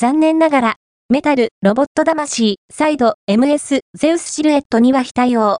残念ながら、メタル、ロボット魂、サイド、MS、ゼウスシルエットには非対応。